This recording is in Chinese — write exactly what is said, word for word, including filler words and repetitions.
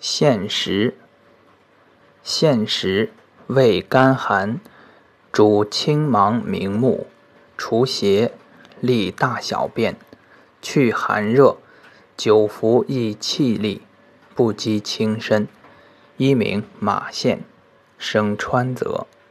现时，现时味甘寒，主青芒明目，除邪，利大小便，去寒热，久服益气力，不积轻身。一名马县，生川泽。